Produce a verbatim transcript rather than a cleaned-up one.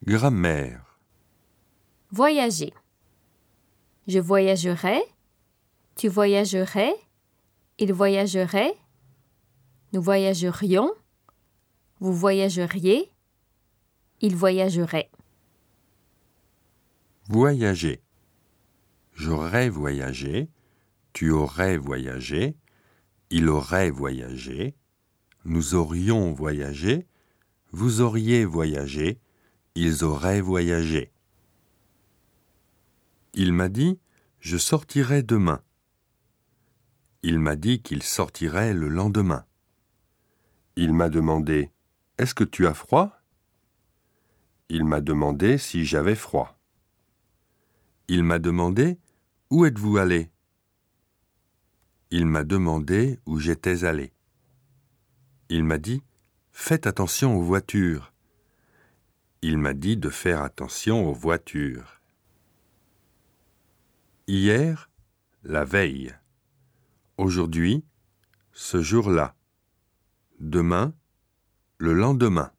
Grammaire. Voyager. Je voyagerai. Tu voyagerais. Il voyagerait. Nous voyagerions. Vous voyageriez. Il voyagerait. Voyager. J'aurais voyagé. Tu aurais voyagé. Il aurait voyagé. Nous aurions voyagé. Vous auriez voyagé. Ils auraient voyagé. Il m'a dit « Je sortirai demain ». Il m'a dit qu'il sortirait le lendemain. Il m'a demandé « Est-ce que tu as froid ?» Il m'a demandé si j'avais froid. Il m'a demandé « Où êtes-vous allé ?» Il m'a demandé où j'étais allé. Il m'a dit « Faites attention aux voitures ». Il m'a dit de faire attention aux voitures. Hier, la veille. Aujourd'hui, ce jour-là. Demain, le lendemain.